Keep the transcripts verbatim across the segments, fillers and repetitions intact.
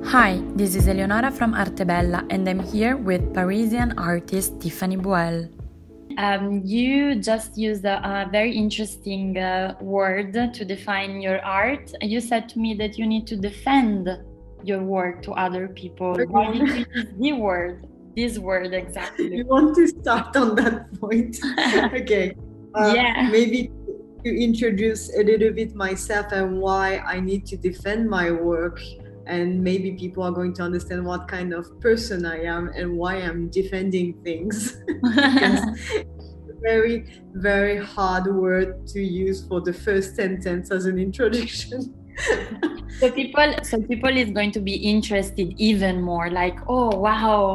Hi, this is Eleonora from Artebella and I'm here with Parisian artist Tiffany Boel. Um, you just used a, a very interesting uh, word to define your art. You said to me that you need to defend your work to other people. Why did you use the word? This word exactly. You want to start on that point? Okay. Uh, yeah. Maybe to introduce a little bit myself and why I need to defend my work, and maybe people are going to understand what kind of person I am and why I'm defending things. Because it's a very, very hard word to use for the first sentence as an introduction. So people, so people is going to be interested even more. Like, oh wow,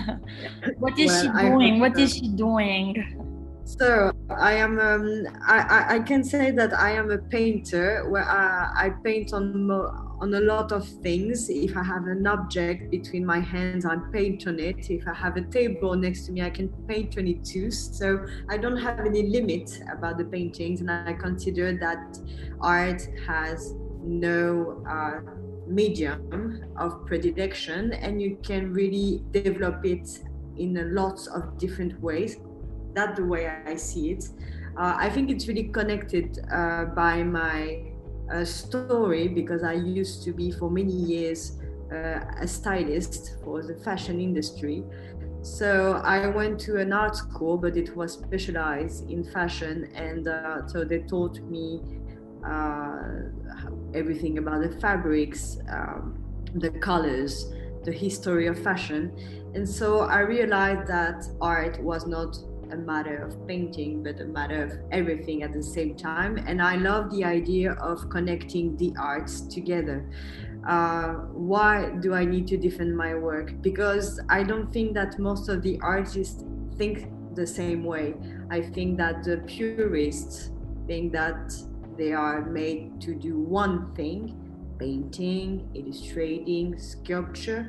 what is Well, she I doing? hope What so. is she doing? So I am. Um, I, I can say that I am a painter. Where I, I paint on mo- on a lot of things. If I have an object between my hands, I paint on it. If I have a table next to me, I can paint on it too. So I don't have any limit about the paintings, and I consider that art has no uh, medium of predilection, and you can really develop it in a lots of different ways. That's the way I see it. Uh, I think it's really connected uh, by my uh, story, because I used to be for many years uh, a stylist for the fashion industry. So I went to an art school, but it was specialized in fashion, and uh, so they taught me uh, everything about the fabrics, um, the colors, the history of fashion. And so I realized that art was not a matter of painting, but a matter of everything at the same time. And I love the idea of connecting the arts together. Uh, why do I need to defend my work? Because I don't think that most of the artists think the same way. I think that the purists think that they are made to do one thing: painting, illustrating, sculpture.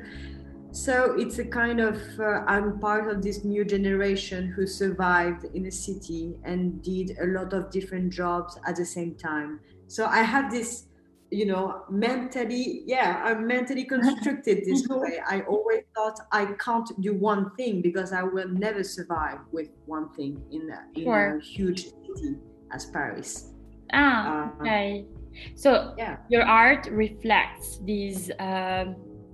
So it's a kind of, uh, I'm part of this new generation who survived in a city and did a lot of different jobs at the same time. So I have this, you know, mentally, yeah, I'm mentally constructed this way. I always thought I can't do one thing because I will never survive with one thing in a, in Sure. a huge city as Paris. Ah, okay. So yeah. Your art reflects these uh,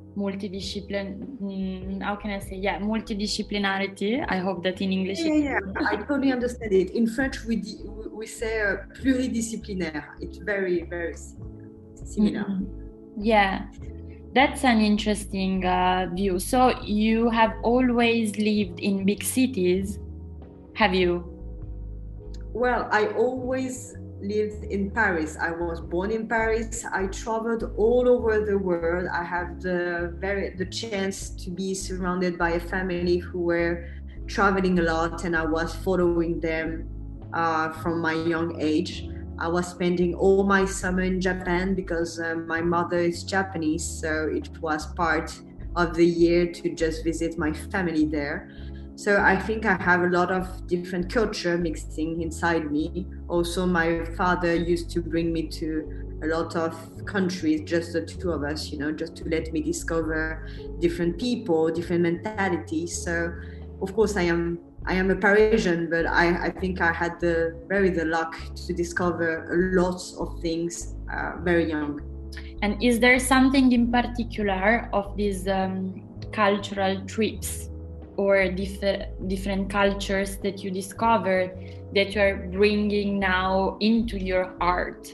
multidiscipline. How can I say? Yeah, multidisciplinarity. I hope that in English. Yeah, yeah, yeah. I totally understand it. In French, we di- we say uh, pluridisciplinaire. It's very, very similar. Mm-hmm. Yeah, that's an interesting uh, view. So you have always lived in big cities, have you? Well, I always lived in Paris. I was born in Paris. I traveled all over the world. I have the very the chance to be surrounded by a family who were traveling a lot, and I was following them uh, from my young age. I was spending all my summer in Japan because uh, my mother is Japanese, so it was part of the year to just visit my family there. So I think I have a lot of different culture mixing inside me. Also, my father used to bring me to a lot of countries, just the two of us, you know, just to let me discover different people, different mentalities. So, of course, I am I am a Parisian, but I, I think I had the very the luck to discover a lot of things uh, very young. And is there something in particular of these um, cultural trips or diff- different cultures that you discovered that you are bringing now into your art?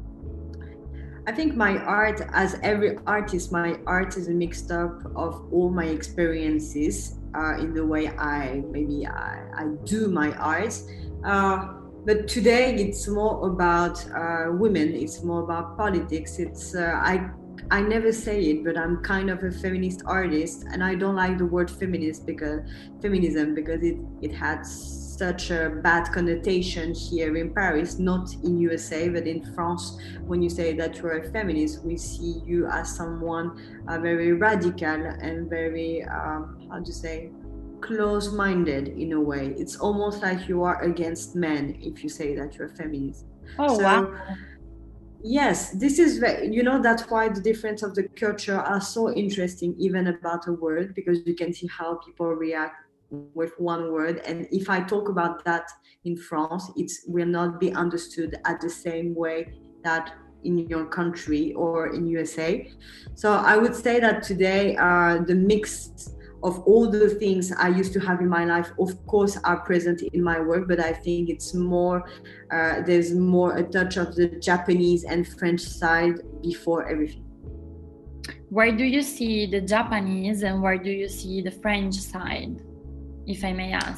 I think my art, as every artist, my art is a mixed up of all my experiences uh, in the way I maybe I, I do my art. Uh, but today it's more about uh, women. It's more about politics. It's uh, I I never say it, but I'm kind of a feminist artist, and I don't like the word feminist because feminism because it it has such a bad connotation here in Paris, not in U S A, but in France. When you say that you're a feminist, we see you as someone uh, very radical and very, um, how to say, close-minded in a way. It's almost like you are against men if you say that you're a feminist. Oh, So, wow. Yes, this is very, you know, that's why the difference of the culture are so interesting, even about a word, because you can see how people react with one word. And if I talk about that in France, it's will not be understood at the same way that in your country or in U S A. So I would say that today, uh, the mix of all the things I used to have in my life, of course, are present in my work, but I think it's more, uh, there's more a touch of the Japanese and French side before everything. Where do you see the Japanese and where do you see the French side, if I may ask?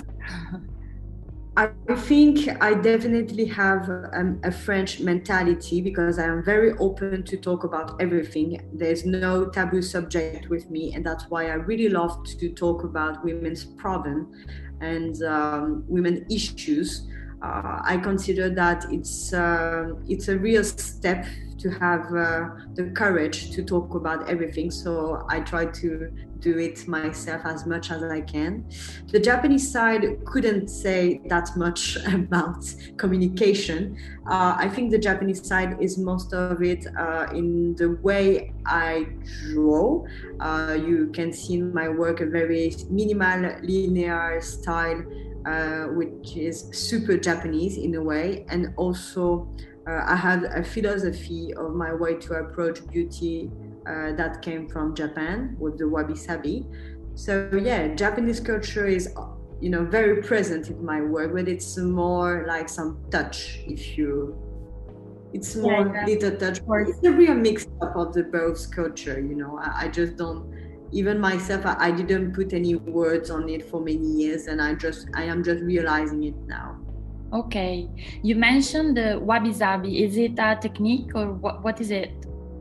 I think I definitely have um, a French mentality because I am very open to talk about everything. There's no taboo subject with me, and that's why I really love to talk about women's problem and um, women issues. Uh, I consider that it's uh, it's a real step to have uh, the courage to talk about everything. So I try to do it myself as much as I can. The Japanese side couldn't say that much about communication. Uh, I think the Japanese side is most of it uh, in the way I draw. Uh, you can see in my work a very minimal, linear style, uh, which is super Japanese in a way, and also Uh, I had a philosophy of my way to approach beauty uh, that came from Japan with the wabi-sabi. So yeah, Japanese culture is, you know, very present in my work, but it's more like some touch. If you, it's more yeah, yeah. little touch. It's a real mix-up of the both culture. You know, I, I just don't. Even myself, I, I didn't put any words on it for many years, and I just, I am just realizing it now. Okay, you mentioned the wabi-sabi. Is it a technique or what, what is it?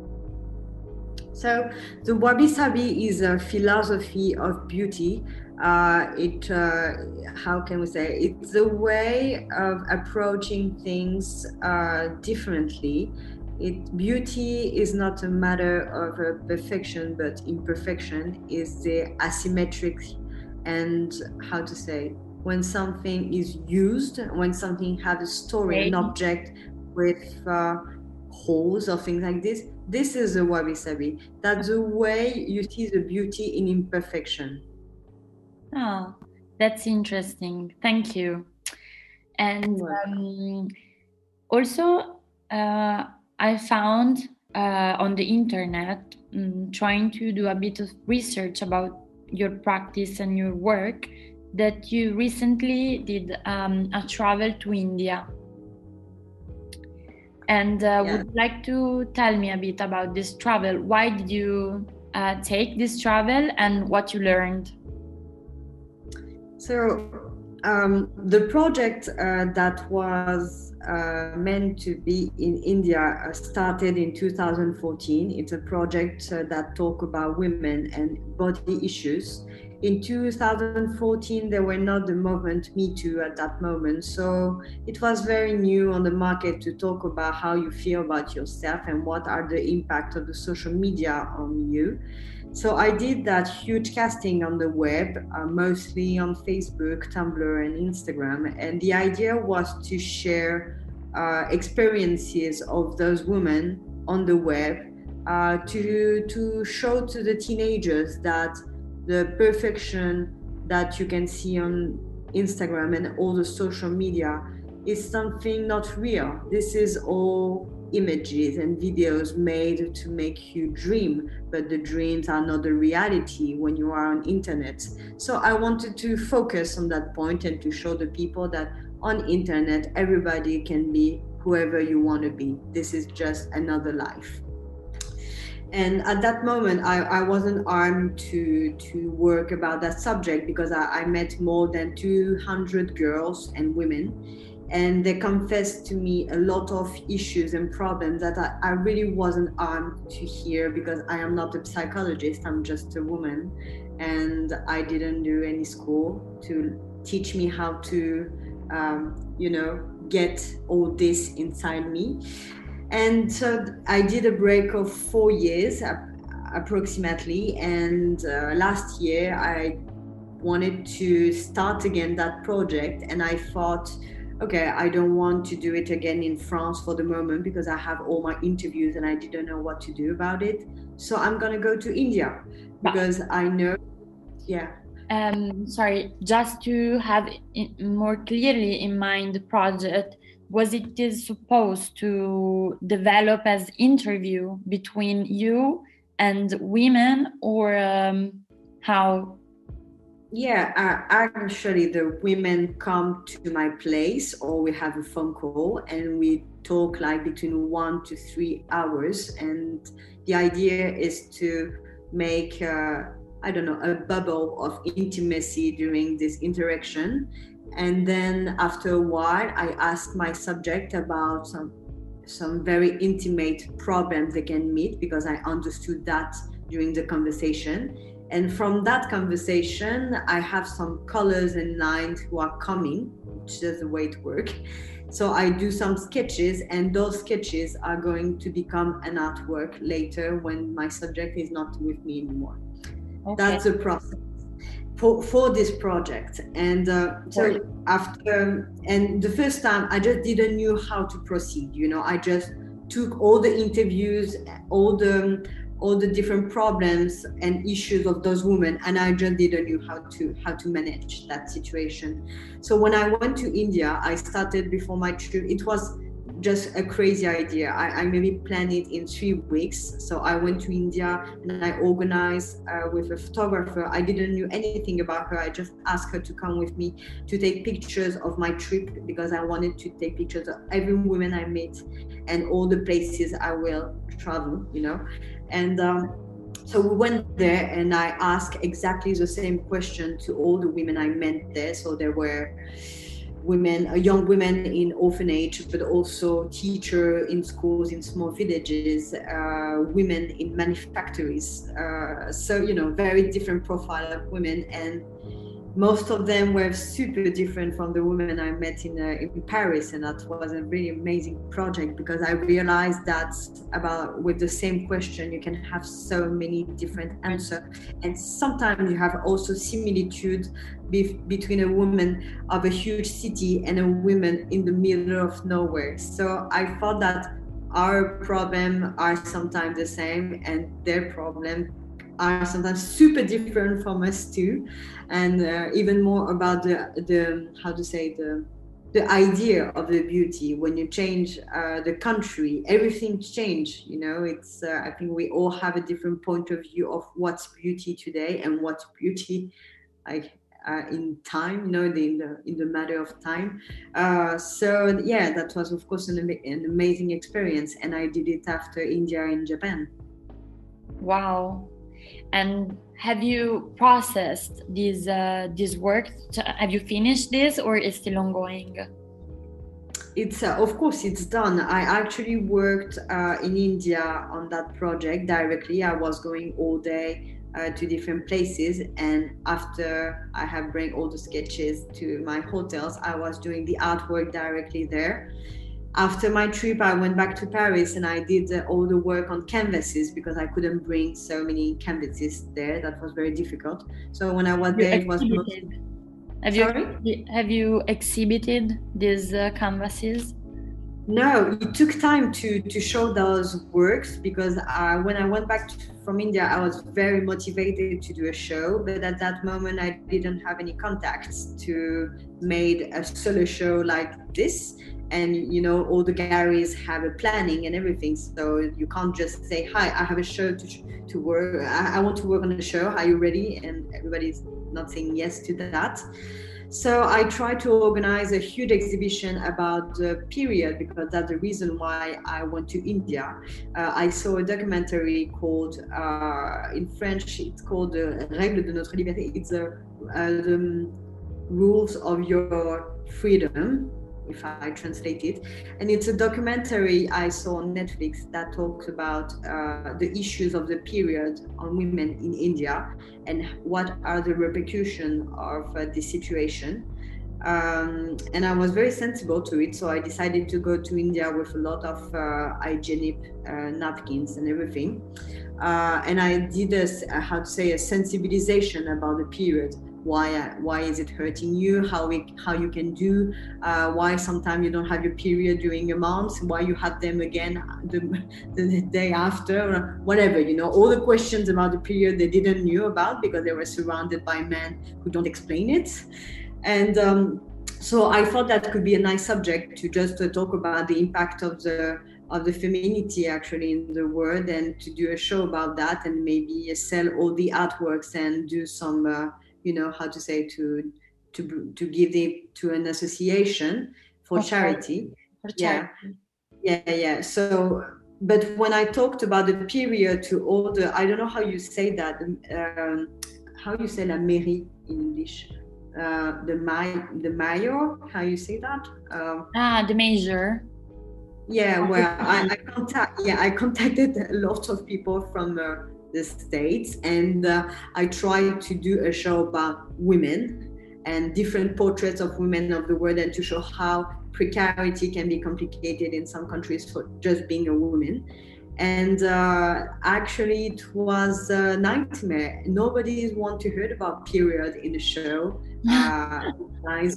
So the wabi-sabi is a philosophy of beauty. Uh, it, uh, how can we say, it's a way of approaching things uh, differently. It, beauty is not a matter of uh, perfection, but imperfection is the asymmetric and how to say, when something is used, when something has a story, right. An object with uh, holes or things like this, this is a wabi-sabi. That's the way you see the beauty in imperfection. Oh, that's interesting. Thank you. And um, also, uh, I found uh, on the internet, um, trying to do a bit of research about your practice and your work, that you recently did um, a travel to India. And uh, yeah. Would you like to tell me a bit about this travel? Why did you uh, take this travel and what you learned? So um, the project uh, that was uh, meant to be in India uh, started in two thousand fourteen. It's a project uh, that talks about women and body issues. In two thousand fourteen, there were not the movement Me Too at that moment. So it was very new on the market to talk about how you feel about yourself and what are the impact of the social media on you. So I did that huge casting on the web, uh, mostly on Facebook, Tumblr, and Instagram. And the idea was to share uh, experiences of those women on the web, uh, to, to show to the teenagers that the perfection that you can see on Instagram and all the social media is something not real. This is all images and videos made to make you dream, but the dreams are not the reality when you are on internet. So I wanted to focus on that point and to show the people that on internet, everybody can be whoever you want to be. This is just another life. And at that moment, I, I wasn't armed to, to work about that subject because I, I met more than two hundred girls and women, and they confessed to me a lot of issues and problems that I, I really wasn't armed to hear because I am not a psychologist, I'm just a woman, and I didn't do any school to teach me how to, um, you know, get all this inside me. And so I did a break of four years approximately. And uh, last year I wanted to start again that project. And I thought okay, I don't want to do it again in France for the moment because I have all my interviews and I didn't know what to do about it. So I'm going to go to India because I know, yeah. Um, sorry, just to have more clearly in mind the project, was it is supposed to develop as interview between you and women, or um, how? Yeah, uh, actually the women come to my place or we have a phone call and we talk like between one to three hours. And the idea is to make, uh, I don't know, a bubble of intimacy during this interaction. And then after a while, I ask my subject about some, some very intimate problems they can meet because I understood that during the conversation. And from that conversation, I have some colors and lines who are coming, which is the way it works. So I do some sketches, and those sketches are going to become an artwork later when my subject is not with me anymore. Okay. That's the process for, for this project. And uh, so after, and the first time I just didn't know how to proceed. You know, I just took all the interviews, all the all the different problems and issues of those women, and I just didn't know how to how to manage that situation. So when I went to India, I started before my trip. It was just a crazy idea. I, I maybe planned it in three weeks. So I went to India and I organized uh, with a photographer. I didn't know anything about her. I just asked her to come with me to take pictures of my trip because I wanted to take pictures of every woman I met and all the places I will travel, you know. And um, so we went there and I asked exactly the same question to all the women I met there. So there were women, uh, young women in orphanage, but also teachers in schools in small villages, uh, women in manufactories. Uh, so, you know, very different profile of women. And most of them were super different from the women I met in, uh, in Paris. And that was a really amazing project because I realized that about with the same question, you can have so many different answers. And sometimes you have also similitude be- between a woman of a huge city and a woman in the middle of nowhere. So I thought that our problems are sometimes the same and their problem are sometimes super different from us too, and uh, even more about the the how to say the the idea of the beauty. When you change uh, the country, everything change. You know, it's uh, I think we all have a different point of view of what's beauty today and what's beauty like uh, in time. You know, the, in the in the matter of time. Uh, so yeah, that was of course an, an amazing experience, and I did it after India and Japan. Wow. And have you processed this uh, this work? Have you finished this, or is still ongoing? It's uh, of course it's done. I actually worked uh, in India on that project directly. I was going all day uh, to different places, and after I have bring all the sketches to my hotels, I was doing the artwork directly there. After my trip, I went back to Paris and I did uh, all the work on canvases because I couldn't bring so many canvases there. That was very difficult. So when I was you there, it was mostly... Have Sorry? you have you exhibited these uh, canvases? No, it took time to to show those works because uh, when I went back to, from India, I was very motivated to do a show, but at that moment I didn't have any contacts to make a solo show like this. And you know, all the galleries have a planning and everything, so you can't just say, hi, I have a show to to work, I, I want to work on a show, are you ready? And everybody's not saying yes to that. So I tried to organize a huge exhibition about the period because that's the reason why I went to India. Uh, I saw a documentary called, uh, in French, it's called the Règles de notre liberté. It's a, uh, the rules of your freedom, if I translate it. And it's a documentary I saw on Netflix that talks about uh, the issues of the period on women in India and what are the repercussions of uh, this situation. Um, and I was very sensible to it, so I decided to go to India with a lot of uh, hygienic uh, napkins and everything. Uh, and I did a, how to say, a sensibilization about the period. Why why is it hurting you? How we, how you can do? Uh, why sometimes you don't have your period during a month? Why you have them again the, the day after? Or whatever, you know, all the questions about the period they didn't knew about because they were surrounded by men who don't explain it. And um, so I thought that could be a nice subject to just uh, talk about the impact of the of the femininity actually in the world, and to do a show about that, and maybe sell all the artworks and do some. Uh, you know how to say to to to give it to an association for okay. charity. For charity. Yeah, yeah, yeah. So, but when I talked about the period to all the, I don't know how you say that. Um, how you say la mairie in English? Uh, the may, the mayor. How you say that? Um, ah, the major. Yeah, well, I, I contact. Yeah, I contacted a lot of people from. Uh, the States, and uh, I tried to do a show about women and different portraits of women of the world, and to show how precarity can be complicated in some countries for just being a woman. And uh, actually it was a nightmare. Nobody want to hear about period in the show. Uh, by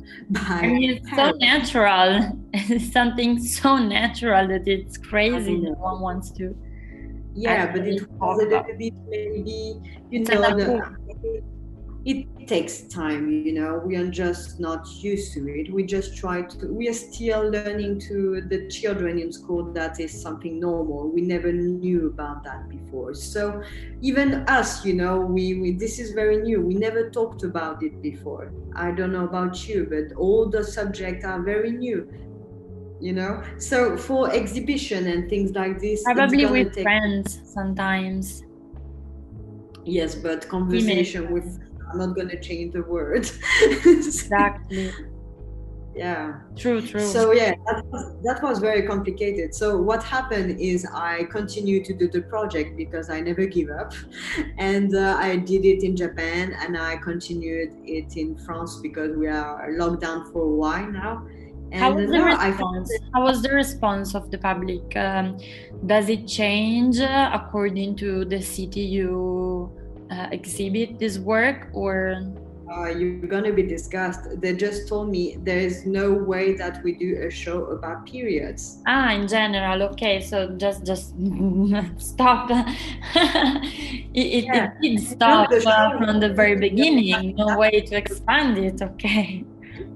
I mean, it's so natural. It's something so natural that it's crazy that one wants to. Yeah, but it was a little bit maybe, you know, the, it takes time, you know, we are just not used to it. We just try to, we are still learning to the children in school that is something normal. We never knew about that before. So even us, you know, we, we this is very new. We never talked about it before. I don't know about you, but all the subjects are very new. You know, so for exhibition and things like this, probably with take... friends sometimes. Yes, but conversation with, I'm not going to change the word. Exactly. Yeah. True, true. So yeah, that was, that was very complicated. So what happened is I continued to do the project because I never give up. And uh, I did it in Japan, and I continued it in France because we are locked down for a while now. And How was the no, response? That... How was the response of the public? Um, does it change uh, according to the city you uh, exhibit this work, or? Uh, you're gonna be disgusted. They just told me there is no way that we do a show about periods. Ah, in general, okay. So just just stop. it, it, yeah. it did stop uh, from the very beginning. No way to expand it. Okay.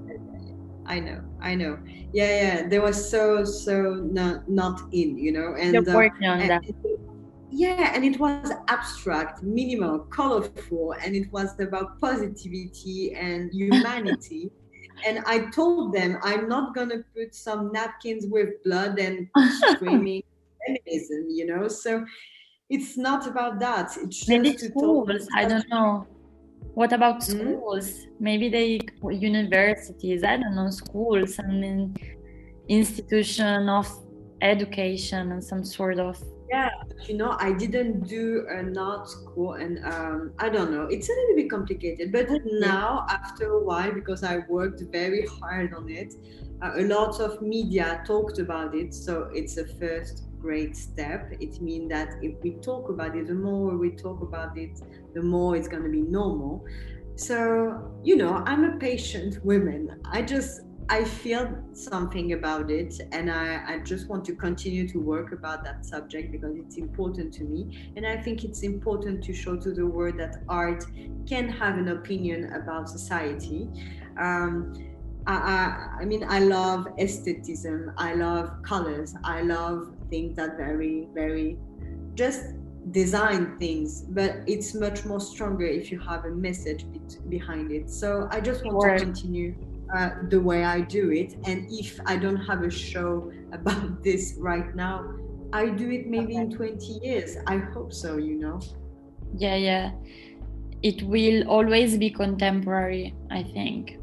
I know, I know. Yeah, yeah. They were so, so not not in, you know. And you're working uh, on and that. It, yeah, and it was abstract, minimal, colorful, and it was about positivity and humanity. And I told them I'm not gonna put some napkins with blood and screaming feminism, you know. So it's not about that. It's just maybe to schools. talk. I don't know. What about schools? Mm-hmm. Maybe they universities. I don't know, schools and an institution of education and some sort of. Yeah, you know, I didn't do an art school, and um, I don't know. It's a little bit complicated, but now after a while, because I worked very hard on it, uh, a lot of media talked about it. So it's a first great step. It means that if we talk about it, the more we talk about it, the more it's going to be normal. So, you know, I'm a patient woman. I just, I feel something about it, and I, I just want to continue to work about that subject because it's important to me. And I think it's important to show to the world that art can have an opinion about society. Um, I, I, I mean, I love aestheticism. I love colors. I love things that very, very just design things, but it's much more stronger if you have a message be- behind it. So I just want Word. to continue uh, the way I do it. And if I don't have a show about this right now, I do it maybe okay. in twenty years. I hope so, you know. Yeah, yeah. It will always be contemporary, I think.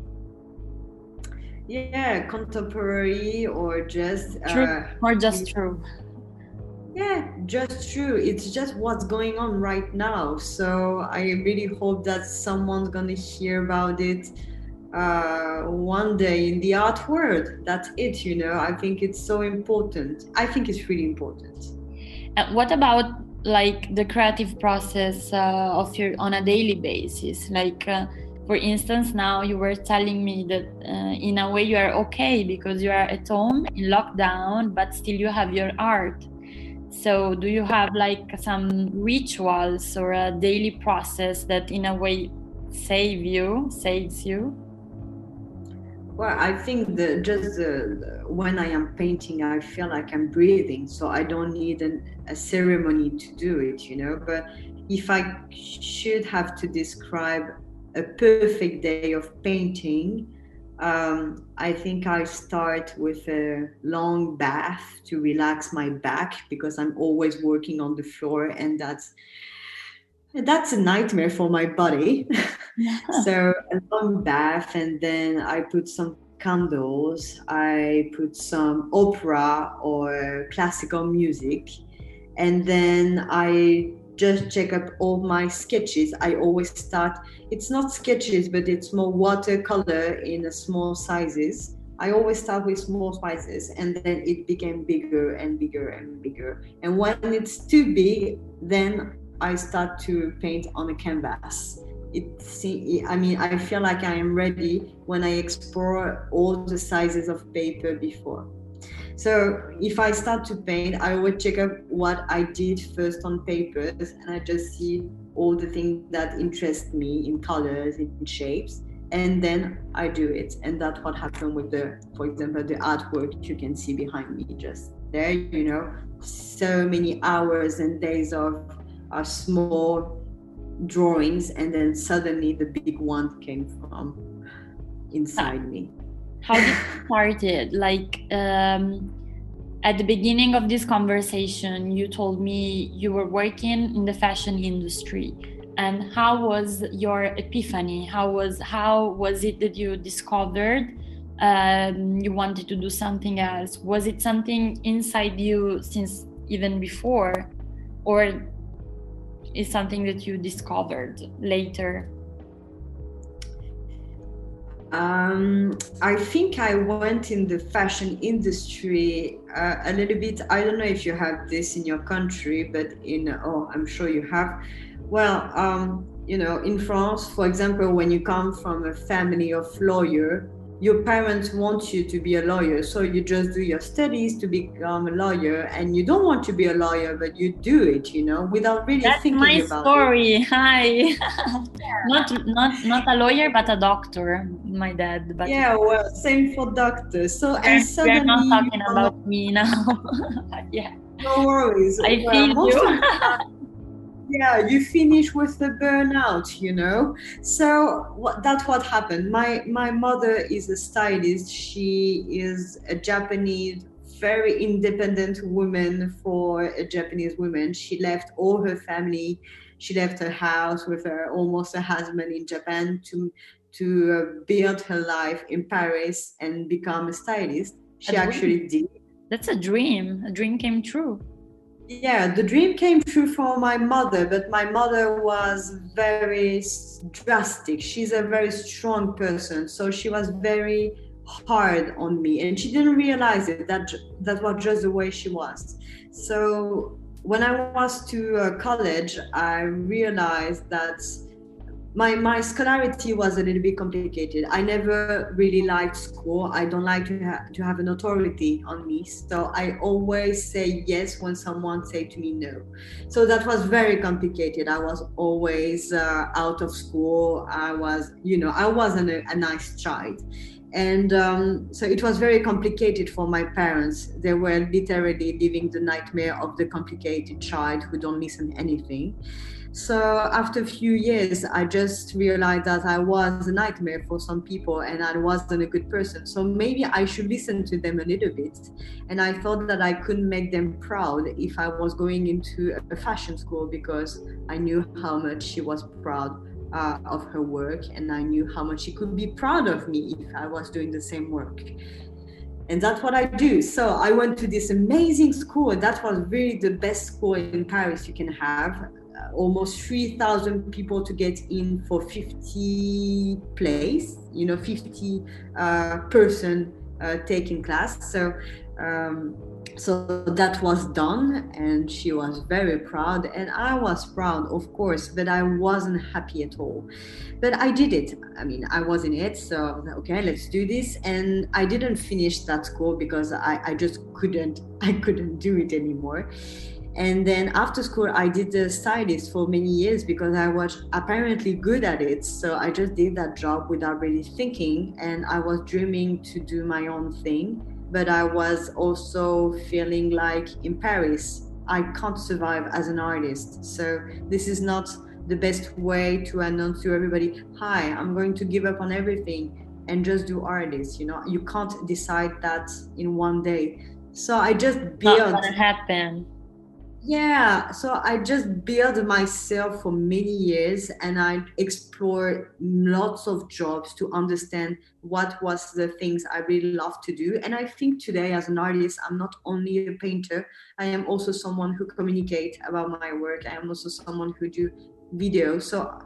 Yeah, contemporary or just true, uh, or just true. Yeah, just true. It's just what's going on right now. So I really hope that someone's gonna hear about it uh, one day in the art world. That's it, you know. I think it's so important. I think it's really important. And what about like the creative process uh, of your on a daily basis? Like, uh, for instance, now you were telling me that uh, in a way you are okay because you are at home in lockdown, but still you have your art. So do you have like some rituals or a daily process that in a way save you, saves you? Well, I think that just uh, when I am painting, I feel like I'm breathing, so I don't need an, a ceremony to do it, you know. But if I should have to describe a perfect day of painting, um, I think I start with a long bath to relax my back because I'm always working on the floor, and that's that's a nightmare for my body. So a long bath, and then I put some candles, I put some opera or classical music, and then I just check up all my sketches. I always start, it's not sketches, but it's more watercolor in a small sizes. I always start with small sizes, and then it became bigger and bigger and bigger. And when it's too big, then I start to paint on a canvas. It, I mean, I feel like I am ready when I explore all the sizes of paper before. So if I start to paint, I always check up what I did first on papers, and I just see all the things that interest me in colors, in shapes, and then I do it. And that's what happened with the, for example, the artwork you can see behind me just there, you know, so many hours and days of uh, small drawings, and then suddenly the big one came from inside me. How did you start it? Like um, at the beginning of this conversation, you told me you were working in the fashion industry. And how was your epiphany? How was how was it that you discovered um, you wanted to do something else? Was it something inside you since even before, or is something that you discovered later? Um, I think I went in the fashion industry uh, a little bit. I don't know if you have this in your country, but in, oh, I'm sure you have. Well, um, you know, in France, for example, when you come from a family of lawyer, your parents want you to be a lawyer, so you just do your studies to become a lawyer, and you don't want to be a lawyer, but you do it, you know, without really That's thinking my about story. it. Hi. not not not a lawyer, but a doctor. My dad. But yeah, well, same for doctors. So we're, and suddenly we're not talking you about know, me now. Yeah. No worries. I well, feel most you. of the time, yeah, you finish with the burnout, you know. So what, that's what happened. My my mother is a stylist. She is a Japanese, very independent woman for a Japanese woman. She left all her family. She left her house with her almost a husband in Japan to to uh, build her life in Paris and become a stylist. She actually did. That's a dream. A dream came true. Yeah, the dream came true for my mother, but my mother was very drastic. She's a very strong person, so she was very hard on me, and she didn't realize it. That that was just the way she was. So when I was to uh, college, I realized that My my scholarity was a little bit complicated. I never really liked school. I don't like to have to have an authority on me. So I always say yes when someone say to me no. So that was very complicated. I was always uh, out of school. I was, you know, I wasn't a, a nice child. And um, so it was very complicated for my parents. They were literally living the nightmare of the complicated child who don't listen to anything. So after a few years, I just realized that I was a nightmare for some people and I wasn't a good person. So maybe I should listen to them a little bit. And I thought that I could make them proud if I was going into a fashion school, because I knew how much she was proud uh, of her work, and I knew how much she could be proud of me if I was doing the same work. And that's what I do. So I went to this amazing school. That was really the best school in Paris you can have. almost three thousand people to get in for fifty place, you know, fifty uh, person uh, taking class. So um, so that was done, and she was very proud, and I was proud, of course, but I wasn't happy at all. But I did it. I mean, I was in it, so okay, let's do this. And I didn't finish that school because I, I just couldn't, I couldn't do it anymore. And then after school, I did the stylist for many years because I was apparently good at it. So I just did that job without really thinking, and I was dreaming to do my own thing. But I was also feeling like in Paris, I can't survive as an artist. So this is not the best way to announce to everybody, hi, I'm going to give up on everything and just do artists. You know, you can't decide that in one day. So I just built. Not gonna happen. Yeah, so I just built myself for many years, and I explored lots of jobs to understand what was the things I really love to do. And I think today as an artist, I'm not only a painter, I am also someone who communicates about my work. I am also someone who do video. So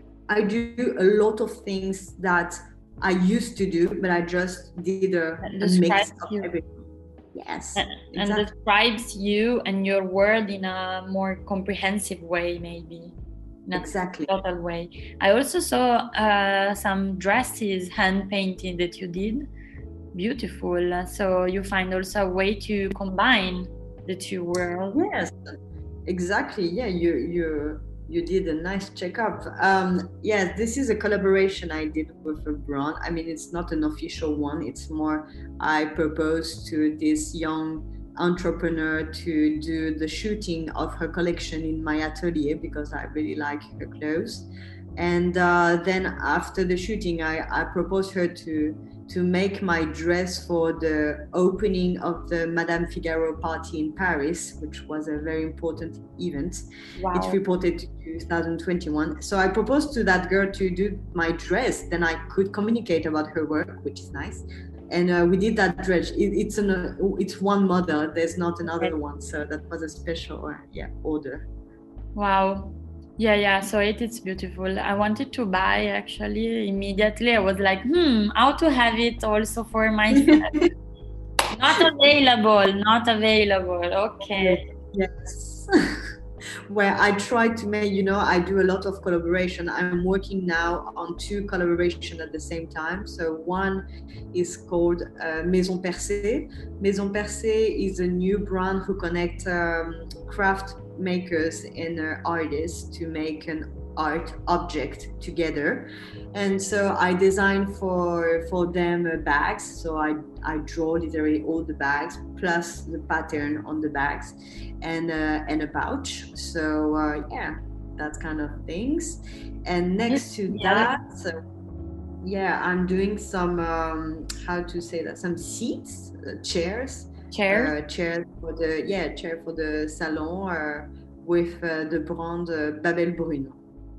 I do a lot of things that I used to do, but I just did a, a mix of everything. Yes, and, exactly. And describes you and your world in a more comprehensive way, maybe. In a exactly. total way. I also saw uh, some dresses hand painted that you did. Beautiful. So you find also a way to combine the two worlds. Yes, exactly. Yeah, you you you did a nice checkup. Um, yes, this is a collaboration I did with a brand. I mean, it's not an official one. It's more I proposed to this young entrepreneur to do the shooting of her collection in my atelier because I really like her clothes. And uh, then after the shooting, I, I proposed her to to make my dress for the opening of the Madame Figaro party in Paris, which was a very important event. Wow. It reported to two thousand twenty-one. So I proposed to that girl to do my dress. Then I could communicate about her work, which is nice. And uh, we did that dress. It, it's an uh, it's one model. There's not another one. So that was a special uh, yeah order. Wow. Yeah, yeah. So it is beautiful. I wanted to buy actually immediately. I was like, hmm, how to have it also for myself. Not available, not available. Okay. Yes. Where I try to make, you know, I do a lot of collaboration. I'm working now on two collaborations at the same time. So one is called uh, Maison Percée. Maison Percée is a new brand who connect um, craft makers and uh, artists to make an art object together. And so I designed for for them uh, bags. So I I draw literally all the bags plus the pattern on the bags, and uh, and a pouch. So uh, yeah, that kind of things. And next to yeah. that, so yeah, I'm doing some um, how to say that some seats, uh, chairs. Chair, uh, chair for the yeah chair for the salon uh, with uh, the brand uh, Babel Bruno.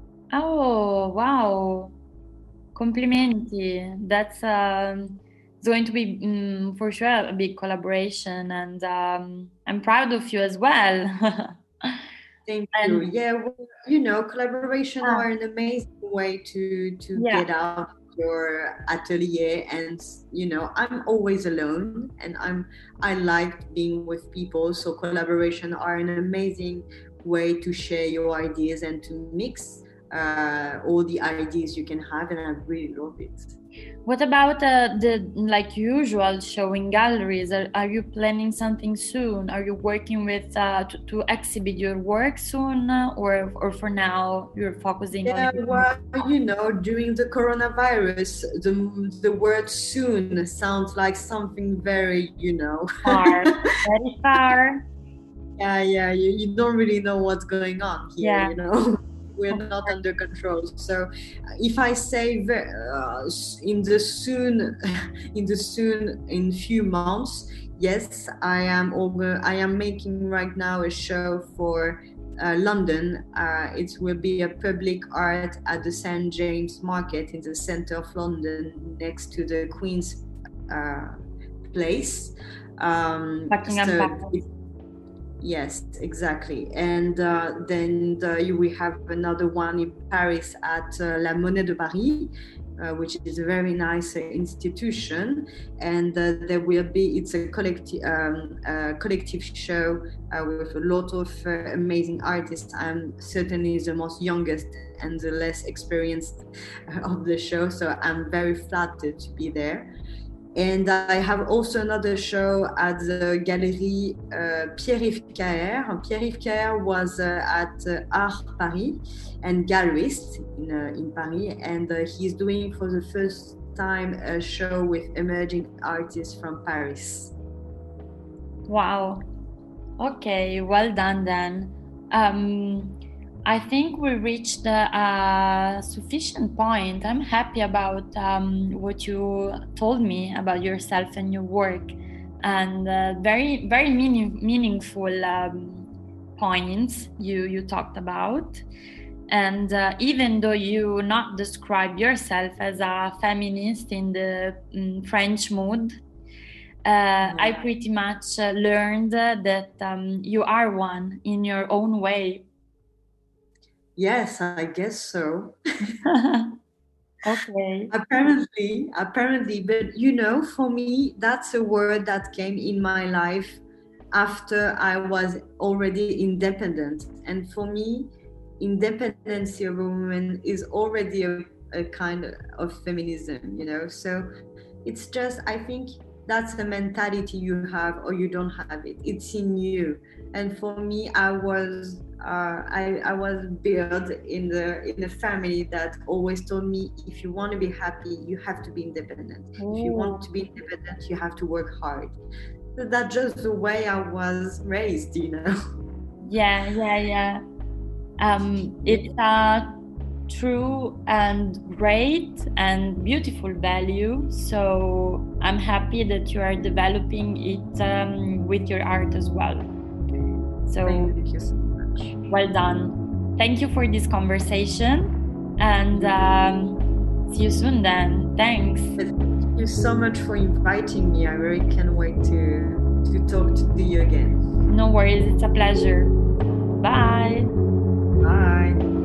Oh wow! Complimenti. That's um, going to be um, for sure a big collaboration, and um, I'm proud of you as well. Thank and, you. Yeah, well, you know, collaboration ah. are an amazing way to to yeah. get out your atelier, and you know, I'm always alone, and I'm I like being with people. So collaboration are an amazing way to share your ideas and to mix uh, all the ideas you can have, and I really love it. What about uh, the like usual showing galleries? Are, are you planning something soon? Are you working with uh, to, to exhibit your work soon, uh, or or for now you're focusing yeah, on? Yeah, well, you know, during the coronavirus, the the word "soon" sounds like something very, you know, far, very far. Yeah, yeah, you, you don't really know what's going on here, yeah. you know. We're not under control. So if I say uh, in the soon, in the soon, in few months, yes, I am over. I am making right now a show for uh, London. Uh, it will be a public art at the Saint James Market in the center of London, next to the Queen's uh, Place. Um, Buckingham so Palace. Yes, exactly. And uh, then the, we have another one in Paris at uh, La Monnaie de Paris, uh, which is a very nice uh, institution. And uh, there will be, it's a collective, um, uh, collective show uh, with a lot of uh, amazing artists. I'm certainly the most youngest and the less experienced of the show, so I'm very flattered to be there. And I have also another show at the Galerie uh, Pierre-Yves Caher. Pierre-Yves Caher was uh, at uh, Art Paris and gallerist in, uh, in Paris. And uh, he's doing for the first time a show with emerging artists from Paris. Wow. Okay, well done then. Um, I think we reached a sufficient point. I'm happy about um, what you told me about yourself and your work, and uh, very, very meaning, meaningful um, points you, you talked about. And uh, even though you not describe yourself as a feminist in the um, French mood, uh, mm-hmm. I pretty much uh, learned that um, you are one in your own way. Yes, I guess so. Okay. Apparently, apparently, but you know, for me, that's a word that came in my life after I was already independent. And for me, independency of a woman is already a, a kind of feminism, you know? So it's just, I think that's the mentality you have or you don't have it. It's in you. And for me, I was uh, I, I was built in the in a family that always told me, if you want to be happy, you have to be independent. Ooh. If you want to be independent, you have to work hard. So that's just the way I was raised, you know. Yeah, yeah, yeah. Um, it's a true and great and beautiful value. So I'm happy that you are developing it um, with your art as well. So thank you so much. Well done. Thank you for this conversation, and um, see you soon then. Thanks. Thank you so much for inviting me. I really can't wait to, to talk to you again. No worries. It's a pleasure. Bye. Bye.